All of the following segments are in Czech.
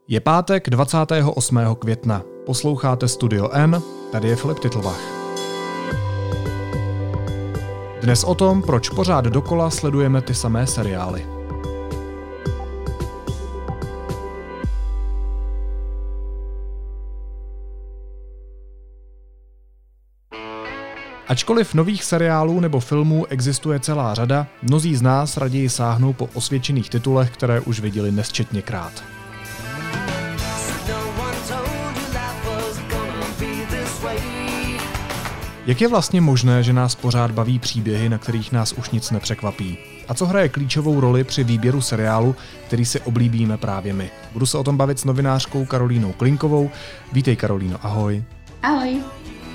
Je pátek 28. května. Posloucháte Studio N, tady je Filip Titlbach. Dnes o tom, proč pořád dokola sledujeme ty samé seriály. Ačkoliv nových seriálů nebo filmů existuje celá řada, mnozí z nás raději sáhnou po osvědčených titulech, které už viděli nesčetněkrát. Jak je vlastně možné, že nás pořád baví příběhy, na kterých nás už nic nepřekvapí? A co hraje klíčovou roli při výběru seriálu, který si oblíbíme právě my? Budu se o tom bavit s novinářkou Karolínou Klinkovou. Vítej, Karolíno, ahoj. Ahoj.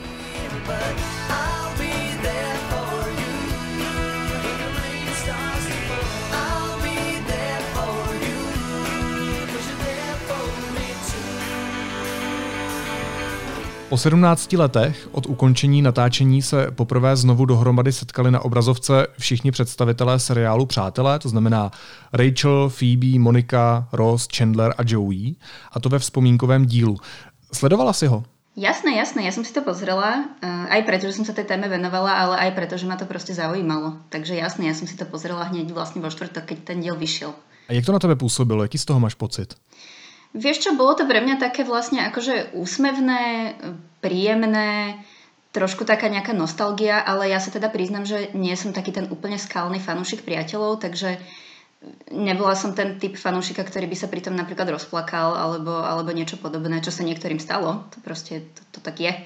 Po 17 letech od ukončení natáčení se poprvé znovu dohromady setkali na obrazovce všichni představitelé seriálu Přátelé, to znamená Rachel, Phoebe, Monika, Ross, Chandler a Joey, a to ve vzpomínkovém dílu. Sledovala si ho? Jasné, ja som si to pozrela, aj preto, že som sa tej téme venovala, ale aj preto, že ma to proste zaujímalo. Takže jasné, ja som si to pozrela hneď vlastne vo štvrtok, keď ten diel vyšiel. A jak to na tebe působilo? Jaký z toho máš pocit? Vieš čo, bolo to pre mňa také vlastne akože úsmevné, príjemné, trošku taká nejaká nostalgia, ale ja sa teda priznám, že nie som taký ten úplne skalný fanúšik Priateľov, takže nebola som ten typ fanúšika, ktorý by sa pritom napríklad rozplakal alebo niečo podobné, čo sa niektorým stalo. To proste, to tak je.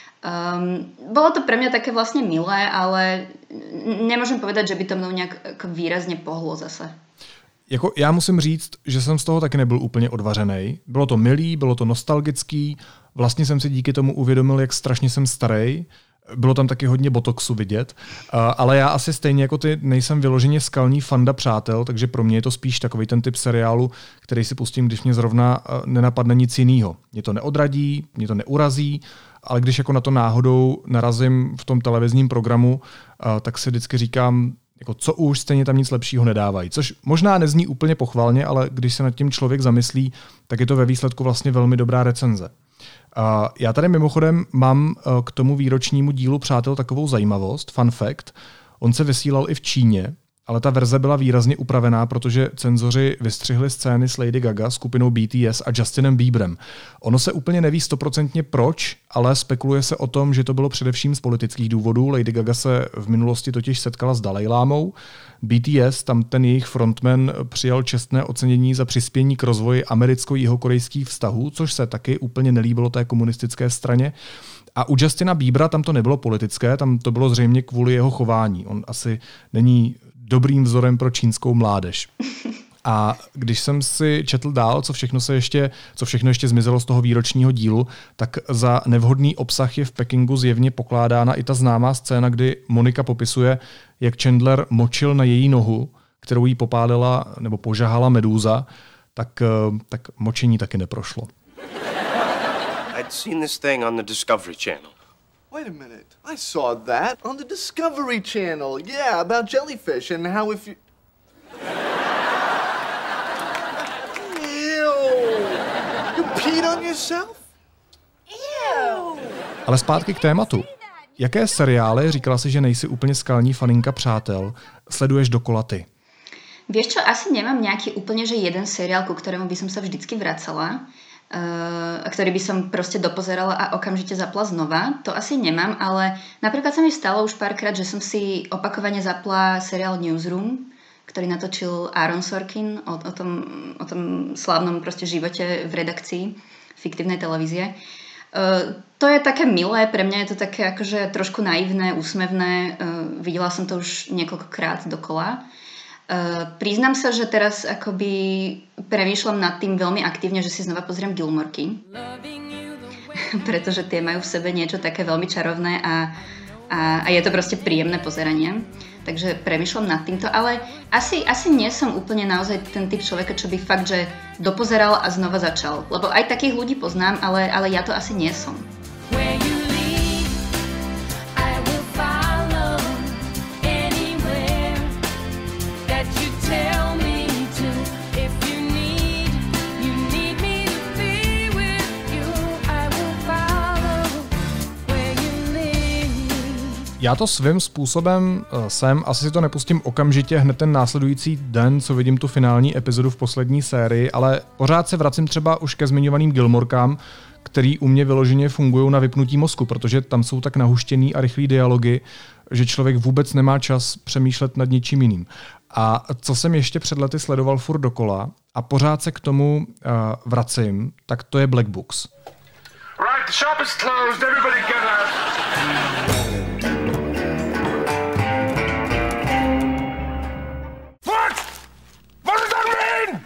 Bolo to pre mňa také vlastne milé, ale nemôžem povedať, že by to mnou nejak výrazne pohlo zase. Jako já musím říct, že jsem z toho taky nebyl úplně odvařenej. Bylo to milý, bylo to nostalgický, vlastně jsem si díky tomu uvědomil, jak strašně jsem starý. Bylo tam taky hodně botoxu vidět, ale já asi stejně jako ty nejsem vyloženě skalní fanda Přátel, takže pro mě je to spíš takový ten typ seriálu, který si pustím, když mě zrovna nenapadne nic jiného. Mě to neodradí, mě to neurazí, ale když jako na to náhodou narazím v tom televizním programu, tak si vždycky říkám, jako co už, stejně tam nic lepšího nedávají. Což možná nezní úplně pochvalně, ale když se nad tím člověk zamyslí, tak je to ve výsledku vlastně velmi dobrá recenze. Já tady mimochodem mám k tomu výročnímu dílu Přátel takovou zajímavost, fun fact. On se vysílal i v Číně, ale ta verze byla výrazně upravená, protože cenzoři vystřihli scény s Lady Gaga, skupinou BTS a Justinem Bieberem. Ono se úplně neví 100% proč, ale spekuluje se o tom, že to bylo především z politických důvodů. Lady Gaga se v minulosti totiž setkala s Dalajlámou. BTS, tam ten jejich frontman, přijal čestné ocenění za přispění k rozvoji americko-jihokorejských vztahů, což se taky úplně nelíbilo té komunistické straně. A u Justina Biebera tam to nebylo politické, tam to bylo zřejmě kvůli jeho chování. On asi není dobrým vzorem pro čínskou mládež. A když jsem si četl dál, co všechno ještě zmizelo z toho výročního dílu, tak za nevhodný obsah je v Pekingu zjevně pokládána i ta známá scéna, kdy Monika popisuje, jak Chandler močil na její nohu, kterou jí popálila nebo požahala medúza, tak močení taky neprošlo. I'd seen this thing on the Discovery Channel. Wait a minute. I saw that on the Discovery Channel. Yeah, about jellyfish and how if you... Ew! You peed on yourself? Ew! Ale zpátky k tématu. Jaké seriály, říkala si, že nejsi úplně skalní faninka Přátel, sleduješ dokola ty? Vieš čo, asi nemám nejaký úplne, že jeden seriál, ku ktorému by som sa vždycky vracala, ktorý by som proste dopozerala a okamžite zapla znova. To asi nemám, ale napríklad sa mi stalo už párkrát, že som si opakovane zapla seriál Newsroom, ktorý natočil Aaron Sorkin o tom slávnom proste živote v redakcii fiktívnej televízie. To je také milé, pre mňa je to také akože trošku naivné, úsmevné. Videla som to už niekoľkokrát dokola. Priznám sa, že teraz akoby premýšľam nad tým veľmi aktívne, že si znova pozriem Gilmorky. Pretože tie majú v sebe niečo také veľmi čarovné a je to proste príjemné pozeranie. Takže premýšľam nad týmto, ale asi nie som úplne naozaj ten typ človeka, čo by fakt, že dopozeral a znova začal. Lebo aj takých ľudí poznám, ale ja to asi nie som. Já to svým způsobem jsem, asi si to nepustím okamžitě hned ten následující den, co vidím tu finální epizodu v poslední sérii, ale pořád se vracím třeba už ke zmiňovaným Gilmorkám, který u mě vyloženě fungují na vypnutí mozku, protože tam jsou tak nahuštěný a rychlý dialogy, že člověk vůbec nemá čas přemýšlet nad něčím jiným. A co jsem ještě před lety sledoval furt dokola a pořád se k tomu vracím, tak to je Black Books. Right, the shop is closed. Everybody get out. What? What does that mean?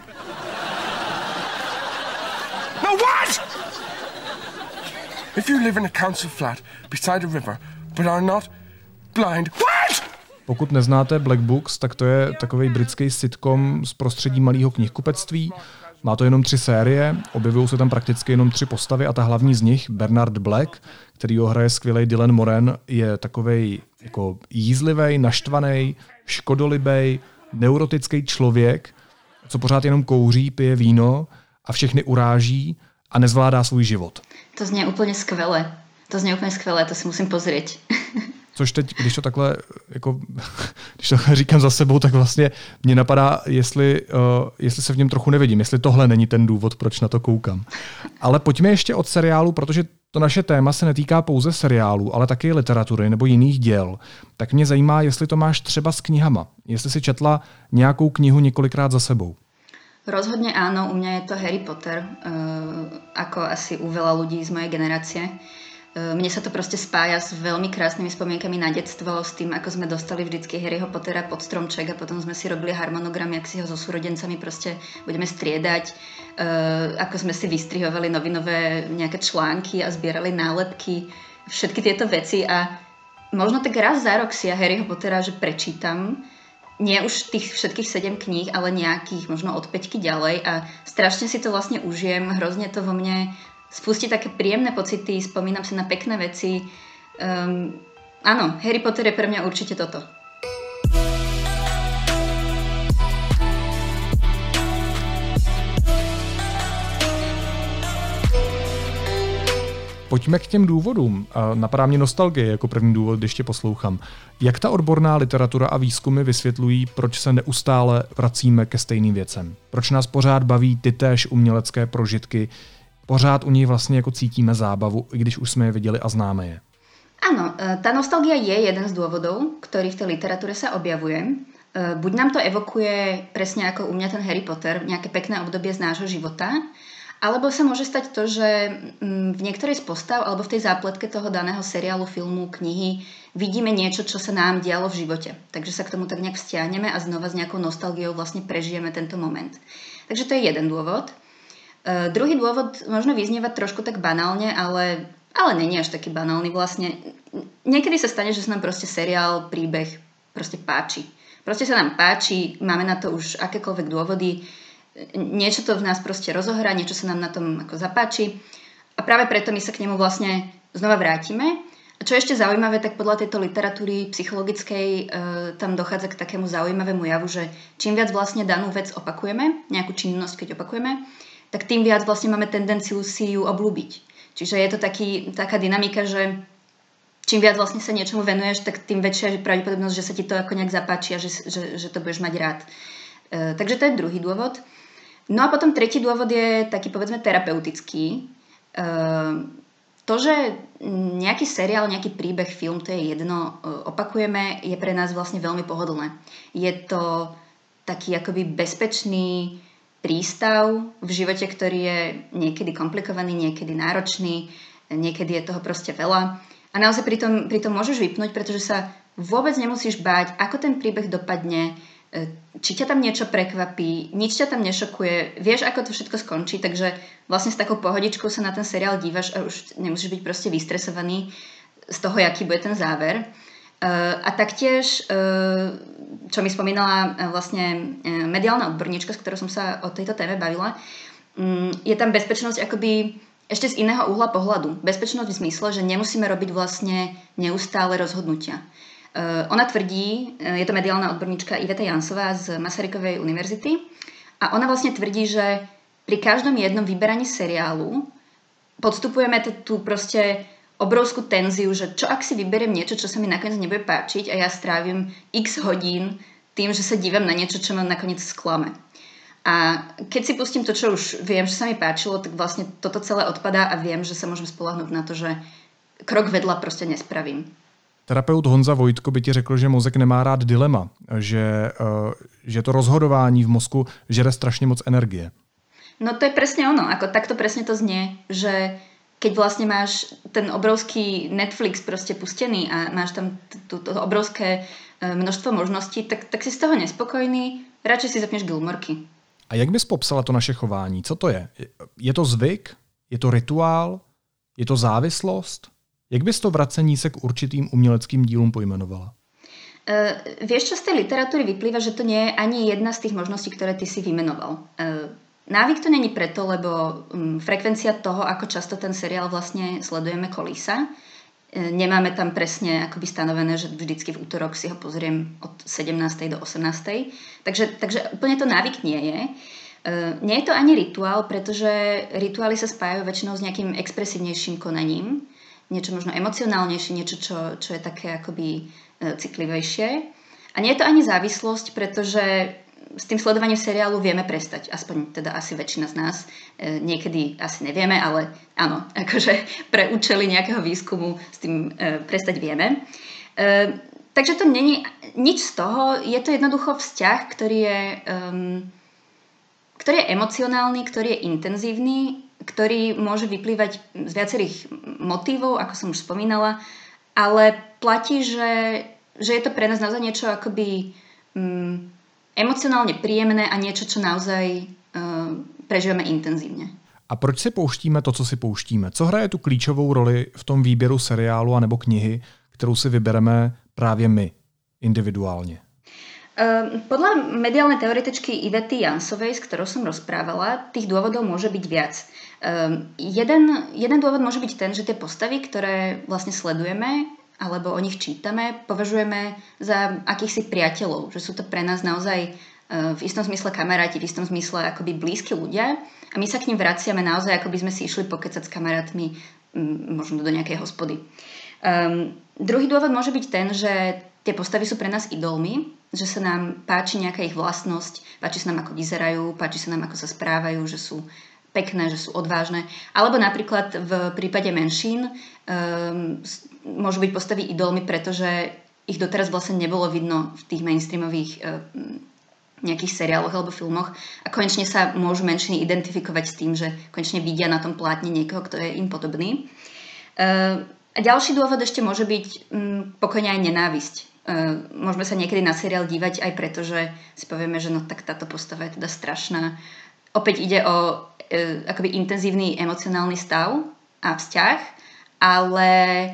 No, what? If you live in a council flat beside a river but are not blind, what? Pokud neznáte Black Books, tak to je takovej britský sitcom z prostředí malého knihkupectví. Má to jenom 3 série, objevují se tam prakticky jenom 3 postavy a ta hlavní z nich, Bernard Black, který ho hraje skvělej Dylan Moran, je takovej jako jízlivej, naštvanej, škodolibej, neurotický člověk, co pořád jenom kouří, pije víno a všechny uráží a nezvládá svůj život. To znie úplně skvěle. To si musím pozrieť. Což teď, když to takhle říkám za sebou, tak vlastně mě napadá, jestli se v něm trochu nevidím, jestli tohle není ten důvod, proč na to koukám. Ale pojďme ještě od seriálu, protože to naše téma se netýká pouze seriálu, ale taky literatury nebo jiných děl. Tak mě zajímá, jestli to máš třeba s knihama. Jestli si četla nějakou knihu několikrát za sebou. Rozhodne áno, u mňa je to Harry Potter, ako asi u veľa ľudí z mojej generácie. Mne sa to proste spája s veľmi krásnymi spomienkami na detstvo, s tým, ako sme dostali vždycky Harryho Pottera pod stromček a potom sme si robili harmonogram, jak si ho so súrodencami proste budeme striedať, ako sme si vystrihovali novinové nejaké články a zbierali nálepky, všetky tieto veci a možno tak raz za rok si ja Harryho Pottera že prečítam. Nie už tých všetkých 7 kníh, ale nejakých možno od 5 ďalej a strašne si to vlastne užijem, hrozne to vo mne spustí také príjemné pocity, spomínam si na pekné veci. Áno, Harry Potter je pre mňa určite toto. Pojďme k těm důvodům. Napadá mě nostalgie jako první důvod, když tě poslouchám. Jak ta odborná literatura a výzkumy vysvětlují, proč se neustále vracíme ke stejným věcem? Proč nás pořád baví ty též umělecké prožitky? Pořád u nich vlastně jako cítíme zábavu, i když už jsme je viděli a známe je. Áno, tá nostalgia je jeden z dôvodov, ktorý v tej literatúre sa objavuje. Buď nám to evokuje presne ako u mňa ten Harry Potter, nejaké pekné obdobie z nášho života, alebo sa môže stať to, že v niektorej z postav alebo v tej zápletke toho daného seriálu, filmu, knihy vidíme niečo, čo sa nám dialo v živote. Takže sa k tomu tak nejak vzťahneme a znova s nejakou nostalgiou vlastne prežijeme tento moment. Takže to je jeden dôvod. Druhý dôvod možno vyznieva trošku tak banálne, ale není až taký banálny vlastne. Niekedy sa stane, že sa nám proste seriál, príbeh proste páči. Proste sa nám páči, máme na to už akékoľvek dôvody, niečo to v nás proste rozohrá, niečo sa nám na tom ako zapáči a práve preto my sa k nemu vlastne znova vrátime. A čo je ešte zaujímavé, tak podľa tejto literatúry psychologickej tam dochádza k takému zaujímavému javu, že čím viac vlastne danú vec opakujeme, nejakú činnosť keď opakujeme, tak tým viac vlastne máme tendenciu si ju obľúbiť. Čiže je to taká dynamika, že čím viac vlastne sa niečomu venuješ, tak tým väčšia je pravdepodobnosť, že sa ti to ako nejak zapáči a že to budeš mať rád. Takže to je druhý dôvod. No a potom tretí dôvod je taký povedzme terapeutický. To, že nejaký seriál, nejaký príbeh, film, to je jedno, opakujeme, je pre nás vlastne veľmi pohodlné. Je to taký akoby bezpečný prístav v živote, ktorý je niekedy komplikovaný, niekedy náročný, niekedy je toho proste veľa. A naozaj pri tom môžeš vypnúť, pretože sa vôbec nemusíš báť, ako ten príbeh dopadne, či ťa tam niečo prekvapí, nič ťa tam nešokuje, vieš, ako to všetko skončí, takže vlastne s takou pohodičkou sa na ten seriál dívaš a už nemusíš byť proste vystresovaný z toho, aký bude ten záver. A taktiež, čo mi spomínala vlastne mediálna odborníčka, s ktorou som sa o tejto téme bavila, je tam bezpečnosť akoby ešte z iného uhla pohľadu. Bezpečnosť v zmysle, že nemusíme robiť vlastne neustále rozhodnutia. Ona tvrdí, je to mediálna odborníčka Iveta Jansová z Masarykovej univerzity a ona vlastne tvrdí, že pri každom jednom vyberaní seriálu podstupujeme tú proste obrovskú tenziu, že čo ak si vyberiem niečo, čo sa mi nakoniec nebude páčiť a ja strávim x hodín tým, že sa dívam na niečo, čo ma nakoniec sklame. A keď si pustím to, čo už viem, že sa mi páčilo, tak vlastne toto celé odpadá a viem, že sa môžem spoľahnúť na to, že krok vedľa proste nespravím. Terapeut Honza Vojtko by ti řekl, že mozek nemá rád dilema, že to rozhodování v mozku žere strašně moc energie. No to je presne ono, ako takto presne to znie, že keď vlastne máš ten obrovský Netflix proste pustený a máš tam to obrovské množstvo možností, tak si z toho nespokojný, radšej si zapneš Gilmorky. A jak bys popsala to naše chování? Co to je? Je to zvyk? Je to rituál? Je to závislost? Jak bys to vracení se k určitým uměleckým dílům pojmenovala? Vieš, čo z tej literatúry vyplýva, že to nie je ani jedna z tých možností, ktoré ty si vymenoval. Návyk to není preto, lebo frekvencia toho, ako často ten seriál vlastne sledujeme, kolísa. Nemáme tam presne akoby stanovené, že vždycky v útorok si ho pozriem od 17. do 18. Takže úplne to návyk nie je. Nie je to ani rituál, pretože rituály sa spájajú väčšinou s nejakým expresívnejším konaním. Niečo možno emocionálnejšie, niečo, čo je také akoby citlivejšie. A nie je to ani závislosť, pretože s tým sledovaním seriálu vieme prestať. Aspoň teda asi väčšina z nás. Niekedy asi nevieme, ale áno, akože pre účely nejakého výskumu s tým prestať vieme. Takže to není nič z toho. Je to jednoducho vzťah, ktorý je emocionálny, ktorý je intenzívny, ktorý môže vyplývať z viacerých motívov, ako som už spomínala, ale platí, že je to pre nás naozaj niečo akoby emocionálne príjemné a niečo, čo naozaj prežívame intenzívne. A proč si pouštíme to, co si pouštíme? Co hraje tu klíčovou roli v tom výběru seriálu anebo knihy, kterou si vybereme právě my, individuálně? Podľa mediálnej teoretičky Ivety Jansovej, s ktorou som rozprávala, tých dôvodov môže byť viac. Jeden dôvod môže byť ten, že tie postavy, ktoré vlastne sledujeme alebo o nich čítame, považujeme za akýchsi priateľov, že sú to pre nás naozaj v istom zmysle kamaráti, v istom zmysle akoby blízki ľudia a my sa k nim vraciame naozaj, ako by sme si išli pokecať s kamarátmi možno do nejakej hospody. Druhý dôvod môže byť ten, že tie postavy sú pre nás idolmi, že sa nám páči nejaká ich vlastnosť, páči sa nám, ako vyzerajú, páči sa nám, ako sa správajú, že sú pekné, že sú odvážne. Alebo napríklad v prípade menšín môžu byť postavy idolmi, pretože ich doteraz vlastne nebolo vidno v tých mainstreamových nejakých seriáloch alebo filmoch a konečne sa môžu menšiny identifikovať s tým, že konečne vidia na tom plátne niekoho, kto je im podobný. A ďalší dôvod ešte môže byť pokojne aj nenávisť. Môžeme sa niekedy na seriál dívať aj preto, že si povieme, že no tak táto postava je teda strašná. Opäť ide o akoby intenzívny emocionálny stav a vzťah, ale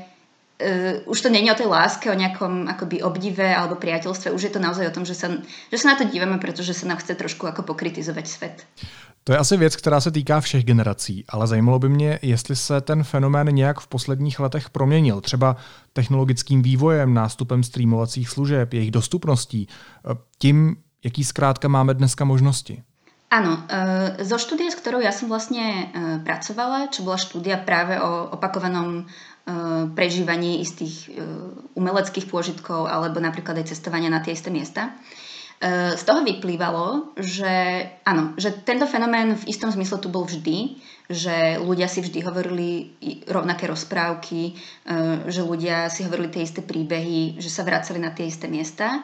už to nie je o tej láske, o nejakom akoby obdive alebo priateľstve, už je to naozaj o tom, že sa na to dívame, pretože sa nám chce trošku ako pokritizovať svet. To je asi věc, která se týká všech generací, ale zajímalo by mě, jestli se ten fenomén nějak v posledních letech proměnil, třeba technologickým vývojem, nástupem streamovacích služeb, jejich dostupností, tím, jaký zkrátka máme dneska možnosti. Áno, zo štúdie, s ktorou ja som vlastne pracovala, čo bola štúdia práve o opakovanom prežívaní istých umeleckých pôžitkov alebo napríklad aj cestovania na tie isté miesta, z toho vyplývalo, že áno, že tento fenomén v istom zmysle tu bol vždy, že ľudia si vždy hovorili rovnaké rozprávky, že ľudia si hovorili tie isté príbehy, že sa vracali na tie isté miesta.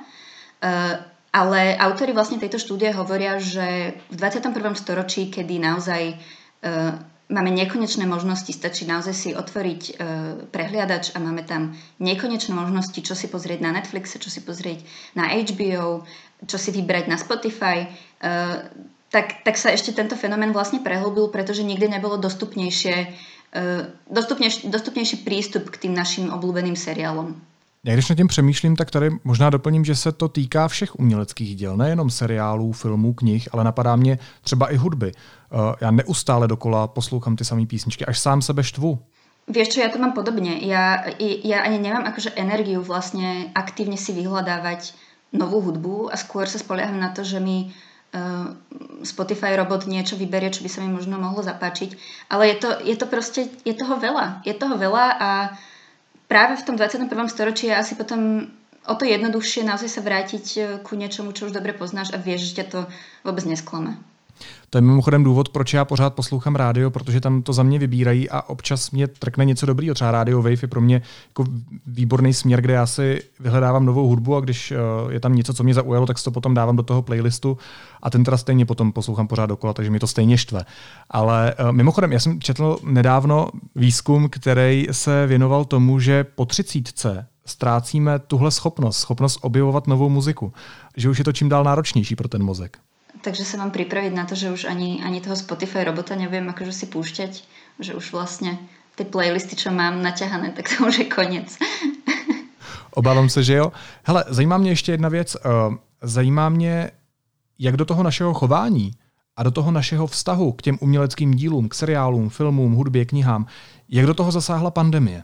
Ale autori vlastne tejto štúdie hovoria, že v 21. storočí, kedy naozaj máme nekonečné možnosti, stačí naozaj si otvoriť prehliadač a máme tam nekonečné možnosti, čo si pozrieť na Netflixe, čo si pozrieť na HBO, čo si vybrať na Spotify, tak sa ešte tento fenomén vlastne prehlbil, pretože nikdy nebolo dostupnejší prístup k tým našim obľúbeným seriálom. Já když nad tím přemýšlím, tak tady možná doplním, že se to týká všech uměleckých děl, nejenom seriálů, filmů, knih, ale napadá mě třeba i hudby. Já neustále dokola poslouchám ty samé písničky, až sám sebe štvu. Vieš čo, ja to mám podobne. Ja ani nemám akože energiu vlastne aktívne si vyhľadávať novú hudbu a skôr sa spolieham na to, že mi Spotify robot niečo vyberie, čo by sa mi možno mohlo zapáčiť. Ale je to proste, je toho veľa. Je toho veľa a práve v tom 21. storočí je asi potom o to jednoduchšie naozaj sa vrátiť ku niečomu, čo už dobre poznáš a vieš, že ťa to vôbec nesklame. To je mimochodem důvod, proč já pořád poslouchám rádio, protože tam to za mě vybírají a občas mě trkne něco dobrýho. Třeba Radio Wave je pro mě jako výborný směr, kde já si vyhledávám novou hudbu a když je tam něco, co mě zaujalo, tak si to potom dávám do toho playlistu a ten teda stejně potom poslouchám pořád dokola, takže mi to stejně štve. Ale mimochodem, já jsem četl nedávno výzkum, který se věnoval tomu, že po 30 ztrácíme tuhle schopnost objevovat novou muziku. Že už je to čím dál náročnější pro ten mozek. Takže sa mám pripraviť na to, že už ani toho Spotify robota neviem akože si púšťať, že už vlastne tie playlisty, čo mám naťahané, tak to už je koniec. Obávám se, že jo. Hele, zajímá mě ještě jedna věc. Zajímá mě, jak do toho našeho chování a do toho našeho vztahu k těm uměleckým dílům, k seriálům, filmům, hudbě, knihám, jak do toho zasáhla pandemie?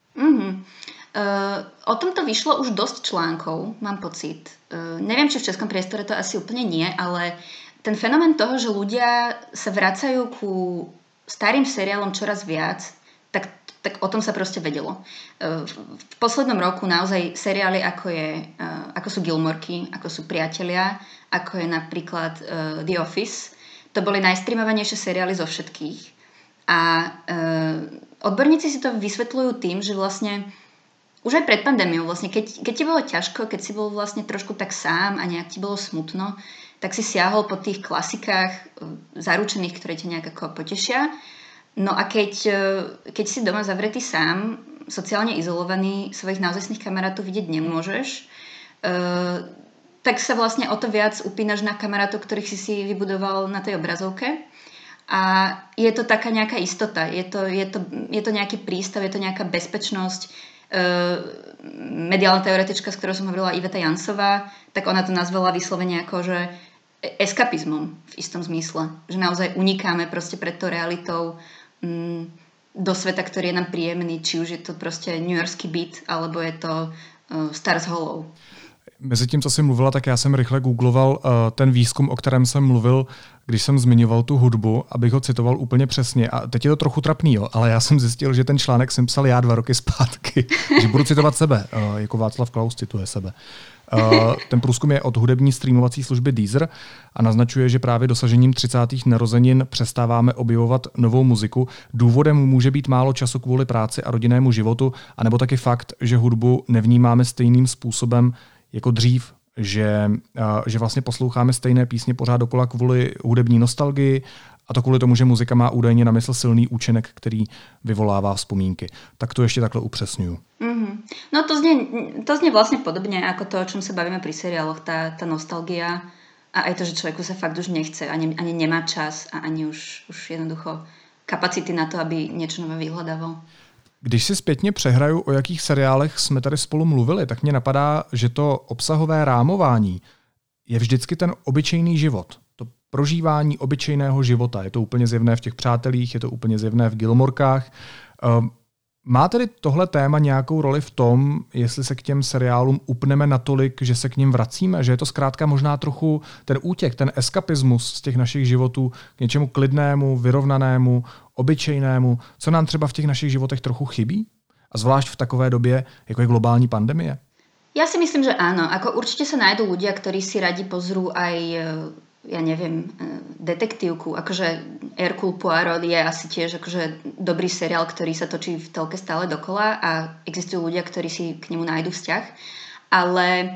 O tomto vyšlo už dosť článkov, mám pocit. Neviem, či v českom priestore to asi úplne nie, ale ten fenomén toho, že ľudia sa vracajú ku starým seriálom čoraz viac, tak o tom sa proste vedelo. V poslednom roku naozaj seriály ako sú Gilmorky, ako sú Priatelia, ako je napríklad The Office, to boli najstreamovanejšie seriály zo všetkých. A odborníci si to vysvetľujú tým, že vlastne už aj pred pandémiou, vlastne, keď ti bolo ťažko, keď si bol vlastne trošku tak sám a nejak ti bolo smutno, tak si siahol po tých klasikách zaručených, ktoré ťa nejak ako potešia. No a keď si doma zavretý sám, sociálne izolovaný, svojich naozajstných kamarátov vidieť nemôžeš, tak sa vlastne o to viac upínaš na kamarátov, ktorých si vybudoval na tej obrazovke. A je to taká nejaká istota, je to nejaký prístav, je to nejaká bezpečnosť. Mediálna teoretička, s ktorou som hovorila, Iveta Jansová, tak ona to nazvala vyslovene ako, že eskapizmom v istom zmysle. Že naozaj unikáme proste pred tou realitou do sveta, ktorý je nám príjemný, či už je to proste newyorský byt, alebo je to Stars Hollow. Mezi tím, co jsi mluvila, tak já jsem rychle googloval ten výzkum, o kterém jsem mluvil, když jsem zmiňoval tu hudbu, abych ho citoval úplně přesně. A teď je to trochu trapný, jo, ale já jsem zjistil, že ten článek jsem psal já 2 roky zpátky, že budu citovat sebe, jako Václav Klaus cituje sebe. Ten průzkum je od hudební streamovací služby Deezer a naznačuje, že právě dosažením 30. narozenin přestáváme objevovat novou muziku. Důvodem může být málo času kvůli práci a rodinnému životu, anebo taky fakt, že hudbu nevnímáme stejným způsobem jako dřív, že vlastně posloucháme stejné písně pořád dokola kvůli hudební nostalgii a to kvůli tomu, že muzika má údajně na mysl silný účinek, který vyvolává vzpomínky. Tak to ještě takhle upřesňuju. Mm-hmm. No to znie vlastne podobne ako to, o čom sa bavíme pri seriáloch, tá nostalgia a aj to, že človeku sa fakt už nechce, ani nemá čas a ani už jednoducho kapacity na to, aby niečo nové vyhľadával. Když si zpětně přehraju, o jakých seriálech jsme tady spolu mluvili, tak mě napadá, že to obsahové rámování je vždycky ten obyčejný život. To prožívání obyčejného života. Je to úplně zjevné v těch Přátelích, je to úplně zjevné v Gilmorkách. Má tedy tohle téma nějakou roli v tom, jestli se k těm seriálům upneme natolik, že se k nim vracíme? Že je to zkrátka možná trochu ten útěk, ten eskapismus z těch našich životů k něčemu klidnému, vyrovnanému, obyčejnému, co nám třeba v těch našich životech trochu chybí? A zvlášť v takové době, jako je globální pandemie? Ja si myslím, že áno. Ako určite sa nájdú ľudia, ktorí si radi pozrú aj, ja neviem, detektívku. Akože Hercule Poirot je asi tiež akože dobrý seriál, ktorý sa točí v telke stále dokola a existujú ľudia, ktorí si k nemu nájdu vzťah. Ale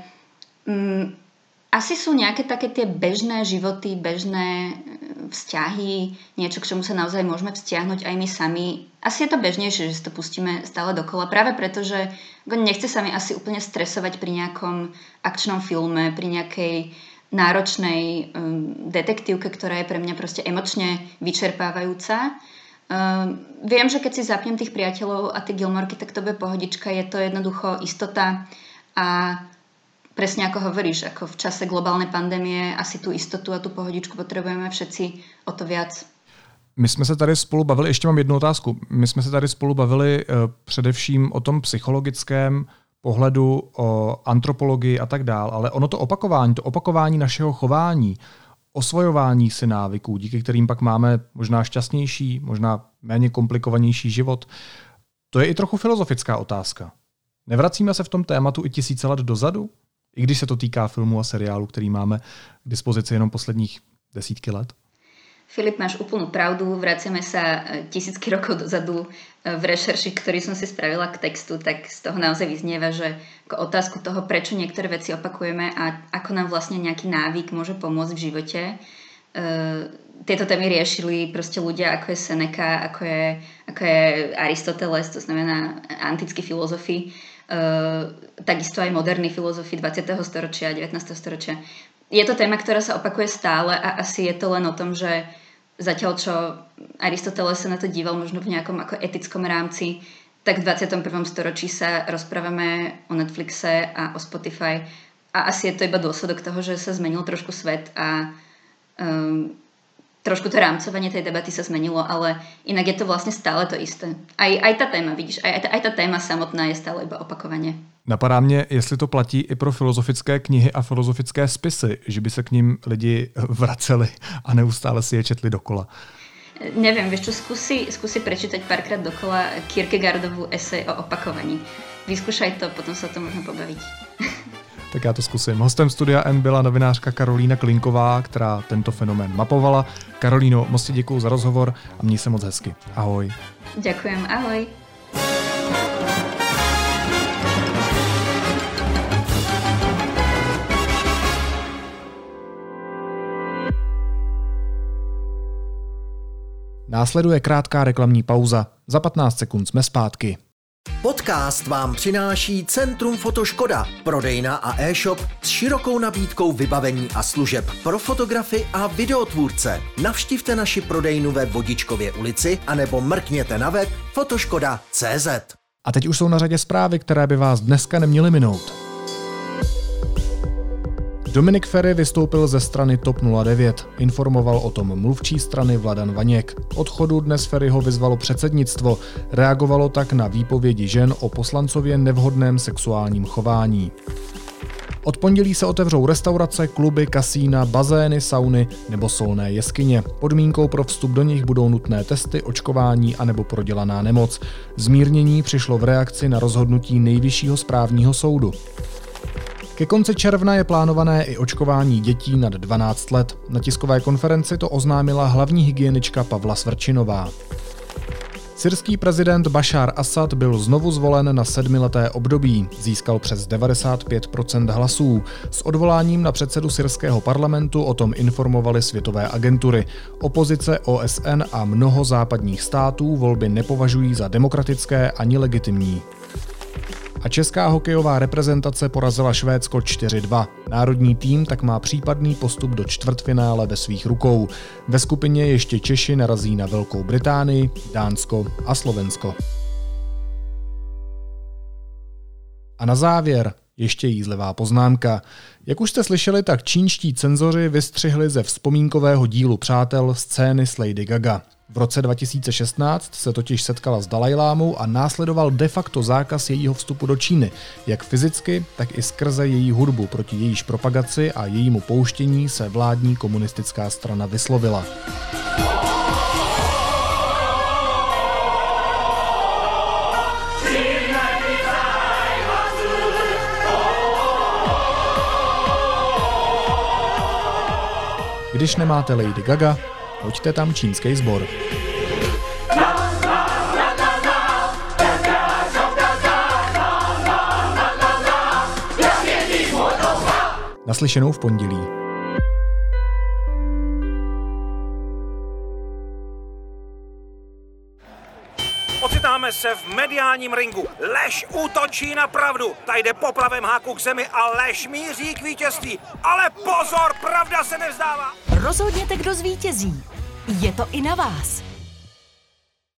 asi sú nejaké také tie bežné životy, bežné vzťahy, niečo, k čomu sa naozaj môžeme vzťahnuť aj my sami. Asi je to bežnejšie, že si to pustíme stále dokola, práve preto, že nechce sa mi asi úplne stresovať pri nejakom akčnom filme, pri nejakej náročnej detektívke, ktorá je pre mňa proste emočne vyčerpávajúca. Viem, že keď si zapnem tých Priateľov a tie Gilmorky, tak to bude pohodička, je to jednoducho istota a presne ako hovoríš, ako v čase globálnej pandémie asi tú istotu a tú pohodičku potrebujeme všetci o to viac. My jsme se tady spolu bavili, ještě mám jednu otázku, my jsme se tady spolu bavili především o tom psychologickém pohledu, o antropologii a tak dál, ale ono to opakování našeho chování, osvojování si návyků, díky kterým pak máme možná šťastnější, možná méně komplikovanější život. To je i trochu filozofická otázka. Nevracíme se v tom tématu i tisíce let dozadu? I když se to týká filmů a seriálů, který máme k dispozici jenom posledních desítky let? Filip, máš úplnú pravdu, vraciame sa tisícky rokov dozadu. V rešerši, ktorý som si spravila k textu, tak z toho naozaj vyznieva, že ako otázku toho, prečo niektoré veci opakujeme a ako nám vlastne nejaký návyk môže pomôcť v živote. Tieto témy riešili proste ľudia, ako je Seneca, ako je Aristoteles, to znamená antickí filozofi, takisto aj moderní filozofi 20. storočia a 19. storočia. Je to téma, ktorá sa opakuje stále a asi je to len o tom, že zatiaľ čo Aristoteles sa na to díval možno v nejakom ako etickom rámci, tak v 21. storočí sa rozprávame o Netflixe a o Spotify a asi je to iba dôsledok toho, že sa zmenil trošku svet a trošku to rámcovanie tej debaty sa zmenilo, ale inak je to vlastne stále to isté. Aj tá téma, vidíš, aj tá téma samotná je stále iba opakovanie. Napadá mě, jestli to platí i pro filozofické knihy a filozofické spisy, že by se k ním lidi vraceli a neustále si je četli dokola. Neviem, vieš čo, skúsi prečítať párkrát dokola Kierkegaardovú esej o opakovaní. Vyskúšaj to, potom sa o tom možno pobaviť. Tak já to zkusím. Hostem Studia N byla novinářka Karolína Klinková, která tento fenomén mapovala. Karolíno, moc ti děkuju za rozhovor a měj se moc hezky. Ahoj. Ďakujem, ahoj. Následuje krátká reklamní pauza. Za 15 sekund jsme zpátky. Podcast vám přináší Centrum Fotoškoda, prodejna a e-shop s širokou nabídkou vybavení a služeb pro fotografy a videotvůrce. Navštivte naši prodejnu ve Vodičkově ulici anebo mrkněte na web fotoškoda.cz. A teď už jsou na řadě zprávy, které by vás dneska neměly minout. Dominik Feri vystoupil ze strany TOP 09. Informoval o tom mluvčí strany Vladan Vaněk. K odchodu dnes Feriho vyzvalo předsednictvo. Reagovalo tak na výpovědi žen o poslancově nevhodném sexuálním chování. Od pondělí se otevřou restaurace, kluby, kasína, bazény, sauny nebo solné jeskyně. Podmínkou pro vstup do nich budou nutné testy, očkování anebo prodělaná nemoc. Zmírnění přišlo v reakci na rozhodnutí Nejvyššího správního soudu. Ke konci června je plánované i očkování dětí nad 12 let. Na tiskové konferenci to oznámila hlavní hygienička Pavla Svrčinová. Syrský prezident Bašár Asad byl znovu zvolen na 7leté období. Získal přes 95% hlasů. S odvoláním na předsedu syrského parlamentu o tom informovaly světové agentury. Opozice, OSN a mnoho západních států volby nepovažují za demokratické ani legitimní. A česká hokejová reprezentace porazila Švédsko 4-2. Národní tým tak má případný postup do čtvrtfinále ve svých rukou. Ve skupině ještě Češi narazí na Velkou Británii, Dánsko a Slovensko. A na závěr ještě jízlivá poznámka. Jak už jste slyšeli, tak čínští cenzoři vystřihli ze vzpomínkového dílu Přátel scény s Lady Gaga. V roce 2016 se totiž setkala s Dalajlámou a následoval de facto zákaz jejího vstupu do Číny, jak fyzicky, tak i skrze její hudbu. Proti jejíž propagaci a jejímu pouštění se vládní komunistická strana vyslovila. Když nemáte Lady Gaga, hoďte tam čínský sbor. Naslyšenou v pondělí. Ocitáme se v mediálním ringu. Lež útočí na pravdu. Ta jde poplavem háku k zemi a lež míří k vítězství. Ale pozor, pravda se nevzdává. Rozhodněte, kdo zvítězí. Je to i na vás.